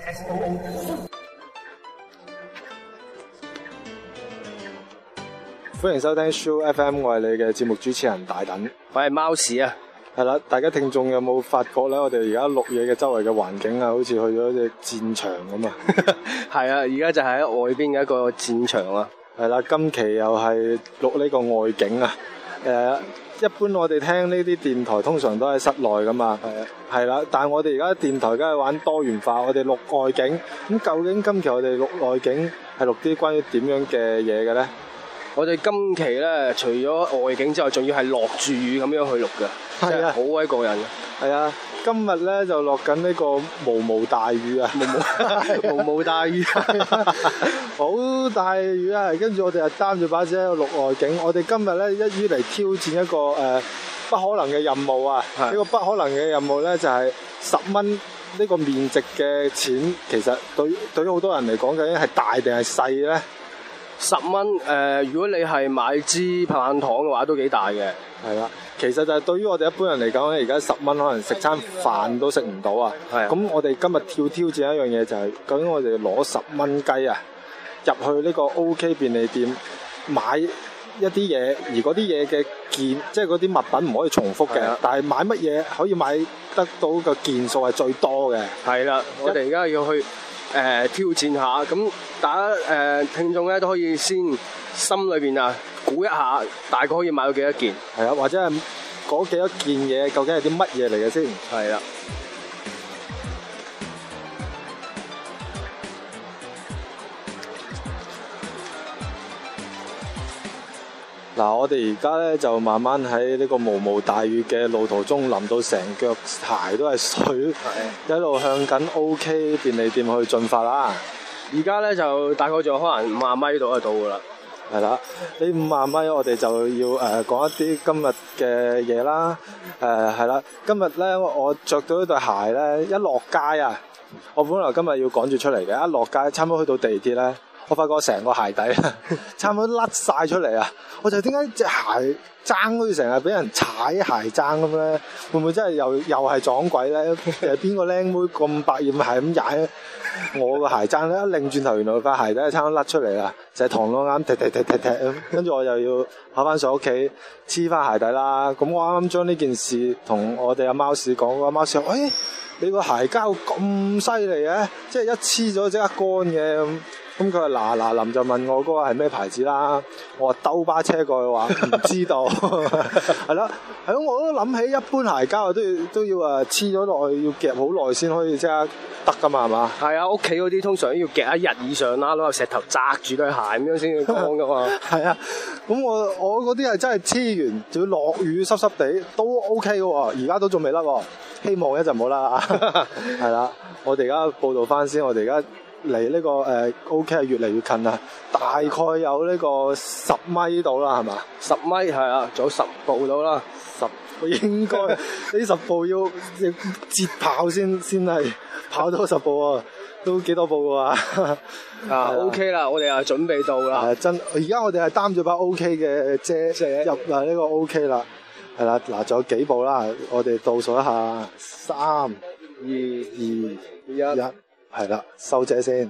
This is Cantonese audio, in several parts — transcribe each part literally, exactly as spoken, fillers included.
歡迎收聽 Show F M， 我係你嘅節目主持人大躉， 我係貓屎啊。 係啦，大家聽眾有冇發覺咧？我哋而家錄嘢嘅周圍嘅環境啊，好似去咗隻戰場咁啊！ 係啊，而家就係喺外邊嘅一個戰場啊。 係啦，今期又係錄呢個外景啊。誒、呃，一般我哋聽呢啲電台通常都喺室內噶嘛。係啊。係啦，但係我哋而家電台梗係玩多元化，我哋錄外景。咁究竟今期我哋錄外景係錄啲關於點樣嘅嘢嘅咧？ 我哋今期咧，除咗外景之外，仲要係落住雨咁樣去錄嘅，係啊，好鬼過癮嘅。 係啊，今日咧就落緊呢個毛毛大雨啊，毛毛毛毛大雨，好大雨啊！跟住我哋就擔住把遮喺度錄外景。我哋今日咧一於嚟挑戰一個誒、呃、不可能嘅任務啊！呢個不可能嘅任務咧就係十蚊呢個面值嘅錢，其實對對於好多人嚟講，究竟係大定係細咧？ 十蚊誒，如果你係買支棒棒糖嘅話，都幾大嘅。 係啦，其實就係對於我哋一般人嚟講咧，而家十蚊可能食餐飯都食唔到啊。係。咁我哋今日跳挑戰一樣嘢就係、是，究竟我哋攞十蚊雞啊，入去呢個 OK 便利店買一啲嘢，而嗰啲嘢嘅件，即係嗰啲物品唔可以重複嘅。但係買乜嘢可以買得到個件數係最多嘅？係啦， 我哋而家要去。誒、呃、挑戰下，咁大家誒、呃、聽眾咧都可以先心裏邊啊估一下，大概可以買到幾多件？ 係啊，或者係嗰幾多件嘢究竟係啲乜嘢嚟嘅先？ 係啦。 嗱，我哋而家咧就慢慢喺呢個毛毛大雨嘅路途中，淋到成腳鞋都係水，一路向緊 OK 便利店去進發啦。 而家咧就大概仲可能五十米度就到噶啦。 係啦，呢五十米我哋就要誒、呃、講一啲今日嘅嘢啦。誒係啦，今日咧我着到呢對鞋咧，一落街啊，我本來今日要趕住出嚟嘅，一落街差唔多去到地鐵咧。我發覺成個鞋底差唔多甩晒出嚟啊！我就點解隻鞋踭好似成日俾人踩鞋踭咁咧？會唔會真係又又係撞鬼咧？誒邊個靚妹咁百厭係咁踩我個鞋踭咧？一擰轉頭，原來塊鞋底係差唔多甩出嚟啦！就係螳螂啱踢踢踢踢踢咁，跟住我又要跑翻上屋企黐翻鞋底啦。咁我啱啱將呢件事同我哋阿貓屎講，阿貓屎話：誒你個鞋膠咁犀利嘅，即係一黐咗即刻乾嘅咁。咁佢話嗱嗱臨就問我嗰個係咩牌子啦，我話兜巴車過去話唔知道，係啦，係咯，我都諗起一般鞋膠都要都要啊黐咗落去，要夾好耐先可以即刻得噶嘛，係嘛？係啊，屋企嗰啲通常要夾一日以上啦，攞個石頭擲住對鞋咁樣先至乾噶嘛。係啊，咁我我嗰啲係真係黐完，仲要落雨濕濕地都 OK 嘅喎，而家都仲未甩喎，希望一陣冇啦。係啦，我哋而家報道翻先，我哋而家。離呢、這個誒、呃、OK 係越嚟越近啦，大概有呢個十米到啦，係嘛？十米係啊，仲有十步到啦，十應該呢十步要要節跑先先係跑到十步啊，都幾多步㗎啊？啊 OK 啦，我哋啊準備到啦，真而家我哋係擔住把 OK 嘅遮入嚟呢個 OK 啦，係啦，嗱仲有幾步啦，我哋倒數一下，三、二、二、一。係啦，收遮先。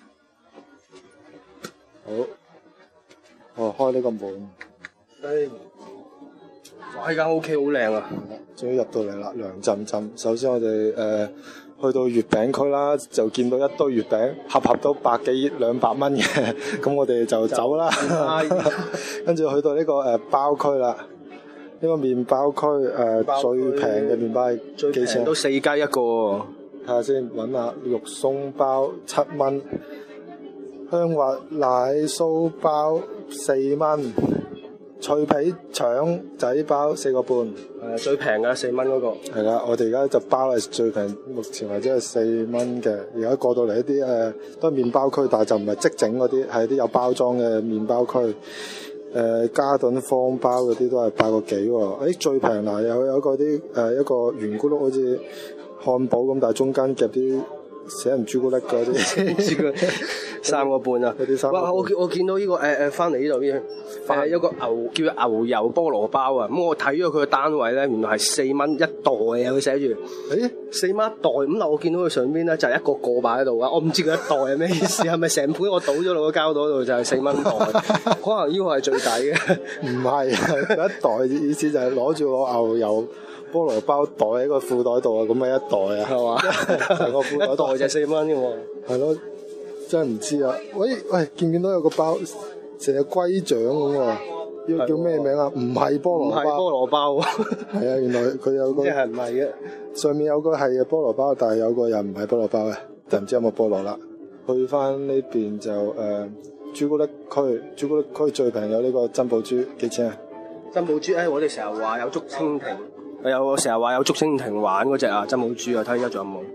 好，我開呢個門。誒，哇！呢間 O K 好靚啊！終於入到嚟啦，涼浸浸。首先我哋誒、呃、去到月餅區啦，就見到一堆月餅，盒盒都百幾兩百蚊嘅，咁我哋就走啦。跟住去到呢、這個誒、呃、包區啦，呢、這個麵包區誒、呃、最平嘅麵包係幾錢？都四雞一個。睇下先，揾下肉鬆包七蚊，香滑奶酥包四蚊，脆皮腸仔包四個半。誒最平嘅四蚊嗰個。係啦，我哋而家就包係最平，目前為止係四蚊嘅。而家過到嚟一啲誒、呃、都係麵包區，但係就唔係即整嗰啲，係啲有包裝嘅麵包區。誒、呃、嘉頓方包嗰啲都係八個幾喎。誒、欸、最平嗱有有嗰啲誒一個圓咕碌好似漢堡咁，但係中間夾啲死人朱古力嗰啲， 三個半啊！ 嗰啲三個半。 哇！我我見到呢、這個誒誒翻嚟呢度呢誒有個牛叫做牛油菠蘿包啊！咁我睇咗佢個單位咧，原來係四蚊一袋啊！佢寫住誒四蚊一袋咁嗱，我見到佢上邊咧就係一個個擺喺度啊！我唔知佢一袋係咩意思，係咪成盤我倒咗落個膠袋度就係四蚊袋？可能呢個係最抵嘅。 唔係，一袋意思就係攞住個牛油菠蘿包袋喺個褲袋度啊，咁咪一袋啊，係嘛？成個褲袋袋就四蚊嘅喎。 係咯，真係唔知啊！喂喂，見唔見到有個包成隻龜掌咁喎？呢個叫咩名啊？唔係菠蘿包， 唔係菠蘿包。 係啊，原來佢有個即係唔係嘅？ 上面有個係菠蘿包，但係有個又唔係菠蘿包嘅，就唔知有冇菠蘿啦。去翻呢邊就誒、呃、朱古力區，朱古力區最平有呢個珍寶珠，幾錢啊？ 珍寶珠誒、哎，我哋成日話有竹蜻蜓，有成日話有竹蜻蜓玩嗰隻啊，珍寶珠啊，睇而家仲有冇？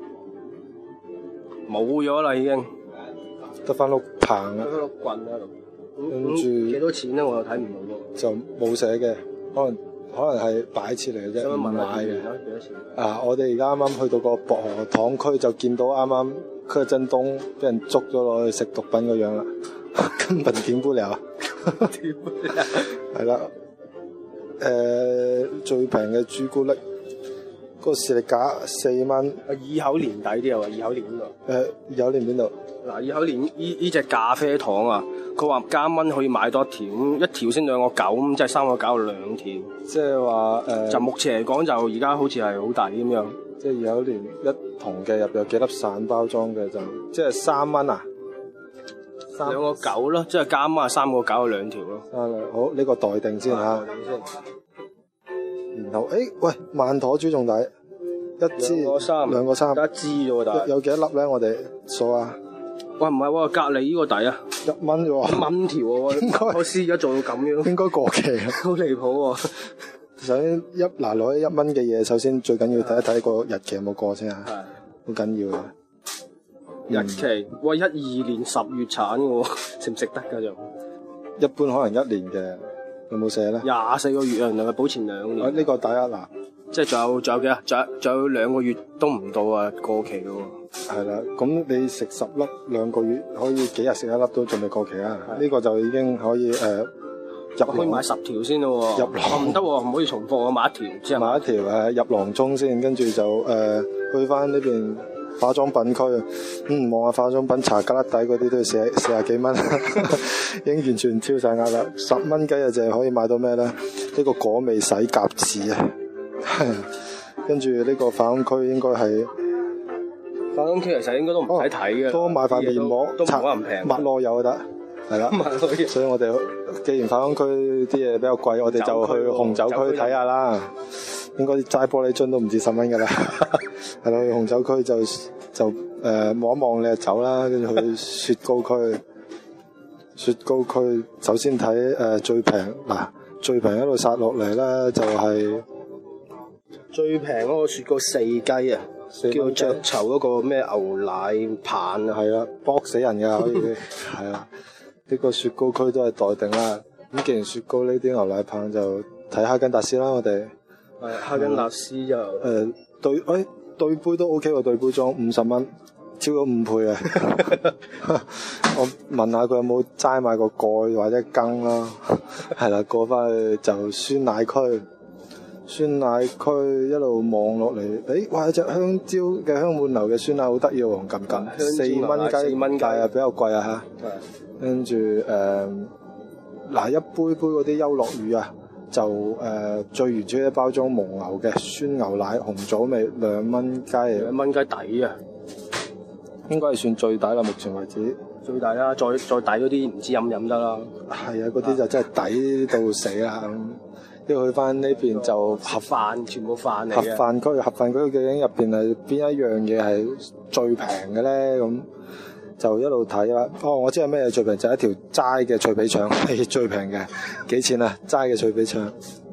冇咗啦，已經得翻碌棒啊！ 得碌棍喺度。 跟住幾多錢咧？我又睇唔到喎。 就冇寫嘅，可能可能係擺設嚟嘅啫，唔買嘅。 幾多錢？ 啊！我哋而家啱啱去到個薄荷糖區，就見到啱啱柯震東俾人捉咗落去食毒品個樣啦，根本點不了。 點不了？ 係啦，誒、呃、最平嘅朱古力，嗰、那個士力架四蚊。 啊，二口年底啲啊，二口年邊度？ 誒有年邊度？ 嗱，二口年呢呢隻咖啡糖啊，佢話加蚊可以買多一條，一條先兩個九，咁即係三個九兩條。 即係話誒， 就目前嚟講，就而家好似係好抵咁樣。 即係有年一桶嘅入有幾粒散包裝嘅就，即係三蚊啊！ 兩個九咯，即係加蚊啊，三個九兩條咯。 啊，好呢、這個待定先嚇。 待定先。 然後誒、欸，喂，曼妥珠仲抵，一支兩個三， 兩個三， 一支啫喎，但係有幾多粒咧？我哋數下。 喂，唔係喎，隔離呢個抵啊， 一蚊啫喎， 一蚊條喎， 應該我試而家做到咁樣， 應該過期啊， 好離譜喎。 首先一嗱攞一蚊嘅嘢，首先最緊要睇一睇個日期有冇過先啊，好緊要嘅。 日期，喂，一二年十月產嘅喎，食唔食得㗎就？ 一般可能一年嘅，有冇寫咧？ 廿四個月啊，能夠保存兩年。 啊，呢個第一嗱， 即係仲有仲有幾啊？仲有仲有兩個月都唔到啊，過期嘅喎。 係啦，咁你食十粒兩個月，可以幾日食一粒都仲未過期啊？呢個就已經可以誒入可以買十條先咯喎。 入籠唔得喎，唔可以重複，我買一條之後。 買一條誒入囊中先，跟住就誒去翻呢邊化妝品區。嗯，望下化妝品茶格粒底嗰啲都要四四廿幾蚊，已經完全超晒額啦。十蚊雞啊，就係可以買到咩咧？呢個果味洗甲紙啊，跟住呢個化妝區應該係。 化妝區其實應該都唔使睇嘅， 多買塊面膜， 都冇可能平。 抹落油就得，係啦。所以我哋既然化妝區啲嘢比較貴，我哋就去紅酒區睇下啦。應該齋玻璃樽都唔止十蚊㗎啦。係咯，去紅酒區就就誒望一望你就走啦，跟住去雪糕區。雪糕區首先睇誒、呃、最平嗱，最平一路殺落嚟咧就係、是、 最平嗰個雪糕四雞啊！叫雀巢嗰個咩牛奶棒啊， 係啦，搏死人㗎可以，係啊，呢個雪糕區都係待定啦。咁既然雪糕呢啲牛奶棒就睇哈根達斯啦，我哋係哈根達斯就誒、 呃、對，誒、哎、對杯都 OK 喎，對杯裝五十蚊，超咗五倍啊！我問下佢有冇齋買個蓋或者羹啦，係啦，過翻去就酸奶區。酸奶區一路望落嚟，誒，哇！有隻香蕉嘅香滿樓嘅酸奶好得意喎，黃金金，四蚊雞，四蚊雞啊，比較貴啊嚇。跟住誒，嗱一杯杯嗰啲優樂乳啊，就誒、呃、最原始嘅包裝蒙牛嘅酸牛奶紅棗味，兩蚊雞， 兩蚊雞抵啊！ 應該係算最抵啦，目前為止。 最抵啦，再再抵嗰啲唔知飲唔飲得啦。 係啊，嗰啲就真係抵到死啦。要去翻呢邊就盒飯，全部飯嚟嘅。 嘅。 盒飯區，盒飯區究竟入邊係邊一樣嘢係最平嘅咧？咁就一路睇啦。哦，我知係咩最平，就係、是、一條齋嘅脆皮腸係最平嘅。幾錢啊？齋嘅脆皮腸。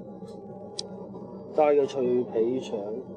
齋嘅脆皮腸。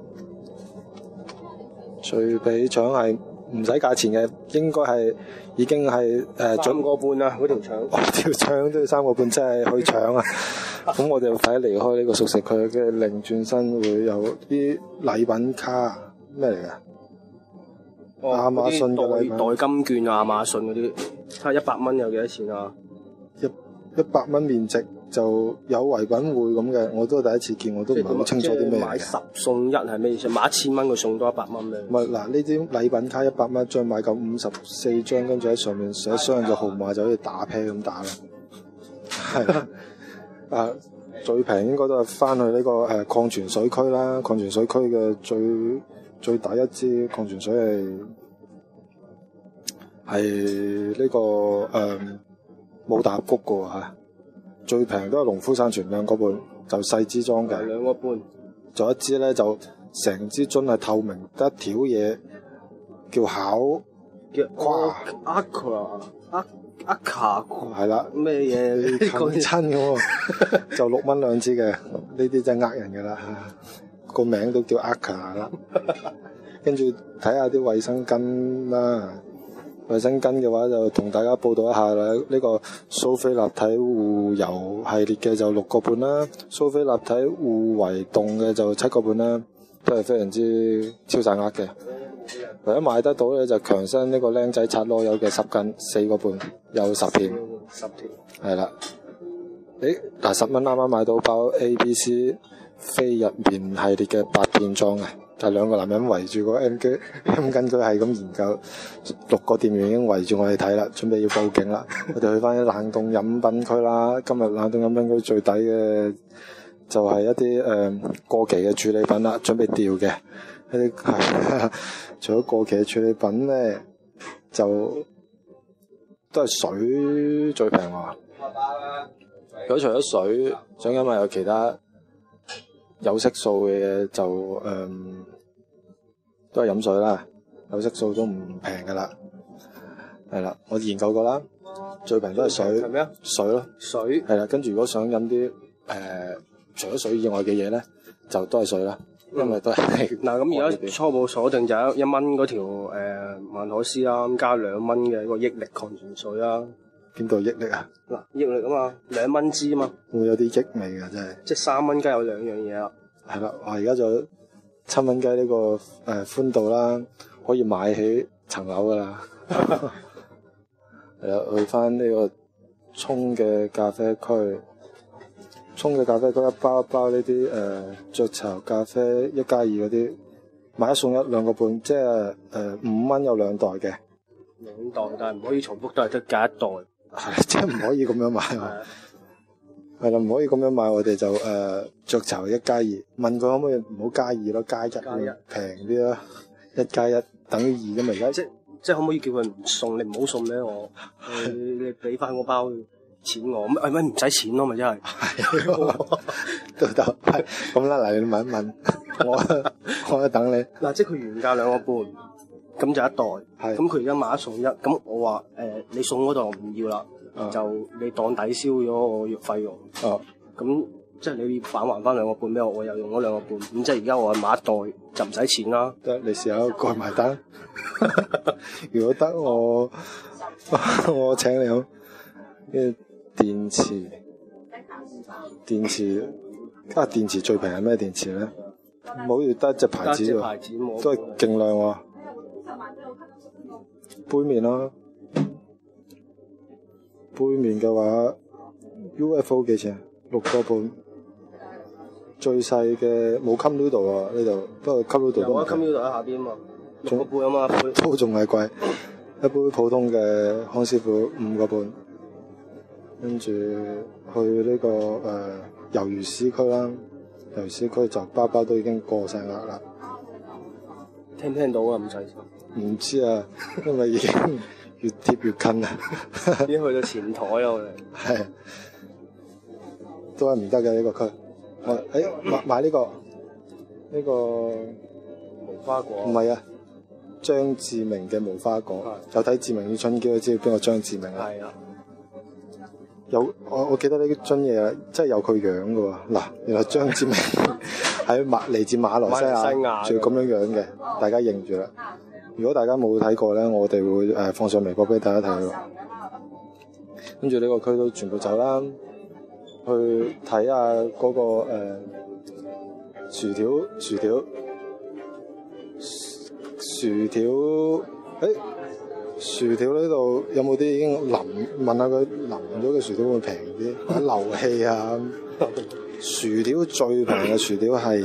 脆皮腸係唔使價錢嘅，應該係已經係誒三個半啊！嗰條腸。 哦，條腸都要三個半，真係去搶啊！咁我哋要快啲離開呢個熟食區嘅，另轉身會有啲禮品卡咩嚟㗎？ 哦、 亞馬遜嘅禮品代代金券啊，亞馬遜嗰啲，睇下一百蚊有幾多錢啊？ 一一百蚊面值就有唯品會咁嘅，我都第一次見，我都唔係好清楚啲咩買十送一係咩意思？買一千蚊佢送多一百蚊咩？ 唔係嗱，呢啲禮品卡一百蚊一張，買夠五十四張，跟住喺上面寫雙嘅號碼，就好似打啤咁打啦。係啦，啊最平應該都係翻去呢、這個誒礦泉水區啦，礦泉水區嘅最最大一支礦泉水係係呢個誒冇大谷嘅喎嚇，最平都係農夫山泉兩個半，就細支裝嘅。 兩個半， 仲有一支咧就成支樽係透明，得一條嘢叫巧叫跨 Aqua Aqua 係啦， 咩嘢講親嘅喎，就六蚊兩支嘅，呢啲真係呃人嘅啦，個名都叫 Aqua 啦。跟住睇下啲衛生巾啦，衛生巾嘅話就同大家報道一下啦。呢、這個蘇菲立體護油系列嘅就六個半啦，蘇菲立體護維凍嘅就七個半啦，都係非常之超晒額嘅。唯一買得到咧就強身呢個僆仔擦螺柚嘅十斤四個半，有十片， 十條係啦。誒嗱十蚊啱啱買到包 A B C 非日棉系列嘅八片裝嘅。就兩個男人圍住個 M 機 M 巾，佢係咁研究，六個店員已經圍住我哋睇啦，準備要報警啦。我哋去翻啲冷凍飲品區啦。今日冷凍飲品區最抵嘅就係一啲誒、呃、過期嘅處理品啦，準備掉嘅一啲係。除咗過期嘅處理品咧，就都係水最平喎。如果除咗水，想因為有其他有色素嘅嘢就誒、嗯、都係飲水啦，有色素都唔平噶啦，係啦，我研究過啦，最平都係水， 係咩啊？ 水咯， 水係啦，跟住如果想飲啲誒除咗水以外嘅嘢咧，就都係水啦，因為都係嗱咁而家初步鎖定就係一蚊嗰條誒曼妥思啦，咁加兩蚊嘅一個益力礦泉水啦。 邊度益力啊？ 嗱，益力啊嘛，兩蚊支啊嘛， 會有啲益味㗎真係。 即係三蚊雞有兩樣嘢啦。 係啦，我而家就七蚊雞呢個誒、呃、寬度啦，可以買起層樓㗎啦。係啦，去翻呢個沖嘅咖啡區，沖嘅咖啡區一包一包呢啲誒雀巢咖啡一加二嗰啲，買一送一兩個半，即係誒五蚊有兩袋嘅。 兩袋，但係唔可以重複，都係得隔一袋。 係，即係唔可以咁樣買。係啦，唔可以咁樣買，我哋就誒、呃、雀巢一加二，問佢可唔可以唔好加二咯，加一平啲咯，一加一等於二咁而家。 即即係可唔可以叫佢唔送？你唔好送俾我，你你俾翻嗰包錢我，咁係咪唔使錢咯？咪真係。 都得，咁啦，嚟你問一問，我我等你。 嗱，即係佢原價兩個半，咁就一袋。 係。 咁佢而家買一送一，咁我話誒、呃，你送嗰袋我唔要啦。Uh, 就你當抵消咗我月費用， 哦，咁即係你返還翻兩個半俾我，我又用咗兩個半，咁即係而家我買一袋就唔使錢啦。 得，你試下蓋埋單。如果得我我請你好。跟住電池，電池啊，電池最平係咩電池咧？冇要得隻牌子喎，都係勁量喎。杯麵咯。杯麵嘅話 ，U F O 幾錢？六個半。最細嘅冇 cup noodle 啊，呢度不過 cup noodle 都唔平。有啊 cup noodle 喺下邊啊嘛，六個半啊嘛，都仲係貴。一杯普通嘅康師傅五個半，跟住去呢、這個誒魷魚絲區啦，魷魚絲區就包包都已經過晒額啦。 聽唔聽到啊？唔使。唔知啊，因為已經。越貼越近啊！ 已經去到前台啦，我哋係都係唔得嘅呢個區。我誒、欸、買買呢、這個呢、這個無花果。 唔係啊，張志明嘅無花果。有睇《志明與春嬌》都知邊個張志明啊？係啊。有我我記得呢樽嘢真係有佢樣嘅喎。嗱，原來張志明喺馬嚟自馬來西亞，仲要咁樣樣嘅，大家認住啦。如果大家冇睇過咧，我哋會誒、呃、放上微博俾大家睇咯。跟住呢個區都全部走啦，去睇下嗰、那個、呃、薯條薯條薯條，誒、欸、薯條呢度有冇啲已經淋？問下佢淋咗嘅薯條會平啲，或者漏氣啊？薯條最平嘅薯條係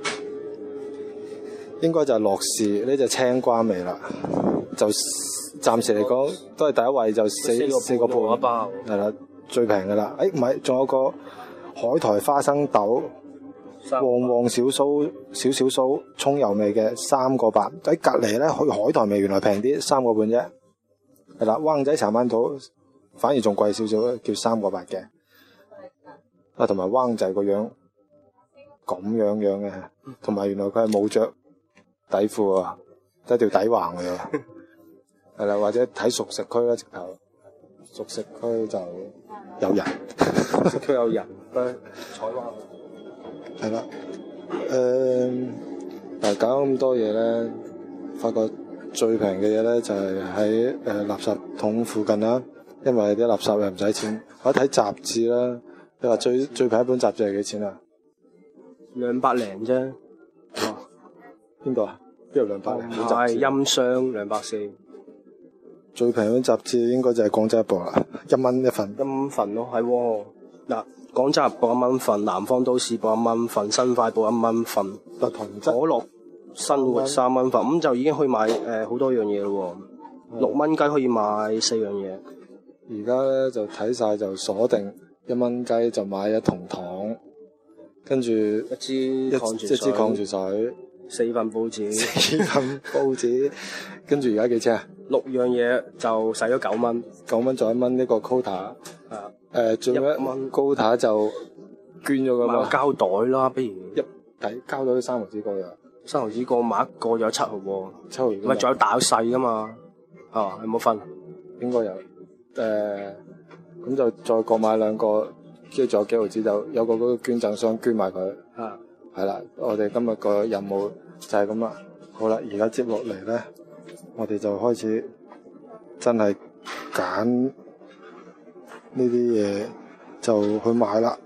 應該就係樂事呢隻青瓜味啦，就暫時嚟講都係第一位，就四四個半一包，係啦，最平嘅啦。誒唔係，仲有個海苔花生豆。旺旺小酥少少酥葱油味嘅三個八，喺隔離咧，去海苔味原來平啲，三個半啫。係啦，灣仔茶饅頭反而仲貴少少，叫三個八嘅。啊，同埋灣仔個樣咁樣樣嘅，同埋原來佢係冇着底褲啊，得條底橫嘅。係啦，或者睇熟食區啦，直頭熟食區就有人，熟食區有人，採灣。係啦，誒、呃，但係搞咁多嘢咧，發覺最平嘅嘢咧就係喺誒垃圾桶附近啦，因為啲垃圾又唔使錢。我睇雜誌啦，你話最最平一本雜誌係幾錢啊？ 兩百零啫。 哇！邊度啊？邊度兩百零？ 係音箱兩百四。 最平本雜誌應該就係廣州日報啦，一蚊一份。 一份咯，係喎。嗱，廣州日報一蚊份，南方都市報一蚊份，新快報一蚊份， 不同質。 可樂生活三蚊份，咁就已經可以買誒好、呃、多樣嘢咯喎。六蚊雞可以買四樣嘢。 而家咧就睇晒就鎖定一蚊雞就買一桶糖，跟住一支一支礦泉水， 四份報紙， 四份報紙，跟住而家幾錢啊？ 六樣嘢就使咗九蚊， 九蚊再一蚊呢個 quota。 啊。 誒，仲有一蚊高塔就捐咗噶嘛？ 買個膠袋啦，不如一抵膠袋三毫紙個嘅， 三毫紙個買一個有七毫喎， 七毫。唔係仲有大有細噶嘛？啊，有冇分？ 應該有。誒、呃，咁就再各買兩個，跟住仲有幾毫紙就有個嗰個捐贈箱捐埋佢。 啊，係啦，我哋今日個任務就係咁啦。好啦，而家接落嚟咧，我哋就開始真係揀。呢啲嘢就去買啦。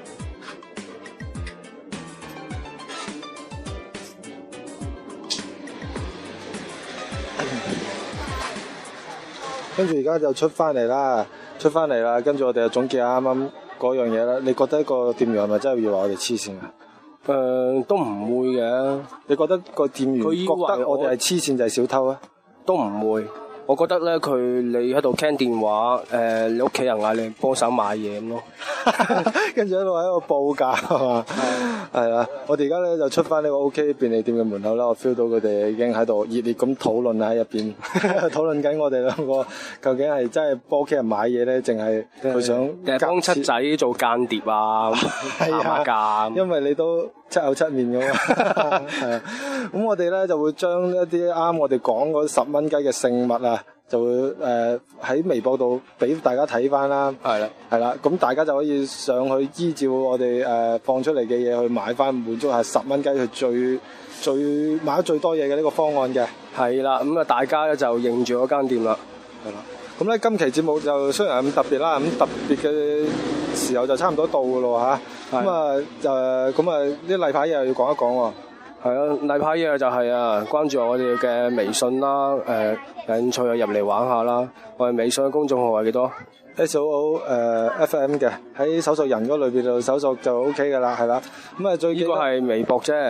跟住而家就出翻嚟啦，出翻嚟啦。跟住我哋就總結下啱啱嗰樣嘢啦。你覺得個店員係咪真係要話我哋黐線啊？ 誒、呃，都唔會嘅。 你覺得個店員覺得我哋係黐線就係小偷啊？ 都唔會。我覺得咧，佢你喺度傾電話，誒、呃，你屋企人嗌你幫手買嘢咁咯， 跟住喺度喺度報價係嘛？係啦，我哋而家咧就出翻呢個 OK 便利店嘅門口啦，我 feel 到佢哋已經喺度熱烈咁討論喺入邊，討論緊我哋兩個究竟係真係幫屋企人買嘢咧，淨係佢想誒幫七仔做間諜啊，打下價。因為你都七口七面㗎嘛，係啊。咁我哋咧就會將一啲啱我哋講嗰十蚊雞嘅聖物啊，就會誒喺、呃、微博度俾大家睇翻啦。係啦，係啦，咁大家就可以上去依照我哋誒、呃、放出嚟嘅嘢去買翻，滿足下十蚊雞佢最最買得最多嘢嘅呢個方案嘅。係啦，咁啊大家咧就認住嗰間店啦。係啦，咁咧今期節目就雖然係咁特別啦，咁特別嘅時候就差唔多到㗎咯嚇。咁啊就咁啊啲例牌嘢又要講一講喎。係啊，例牌嘢就係啊，關注我哋嘅微信啦，誒、呃，有興趣入嚟玩下啦。我哋微信嘅公眾號係幾多 ？S O O 誒 F M 嘅，喺搜索人嗰裏邊度搜索就 O K 噶啦，係啦。咁啊，最呢個係微博啫。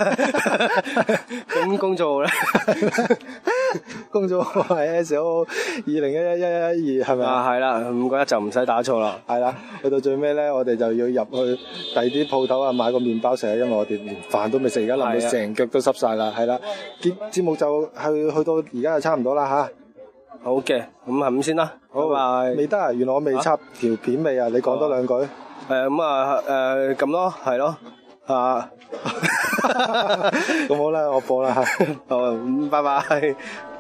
咁公眾號咧？公眾號係 S O O 二零一一一一一二係咪啊？係啦，唔覺得就唔使打錯啦。係啦，去到最尾咧，我哋就要入去第二啲鋪頭啊，買個麵包食，因為我哋連飯都未食，而家淋到成腳都濕晒啦。係啦，節節目就係去到而家就差唔多啦吓。好嘅，咁係咁先啦。好，拜拜。未得啊？原來我未插條片尾啊！你講多兩句。誒咁啊誒咁咯，係咯啊。咁好啦，我播啦嚇。好，拜拜。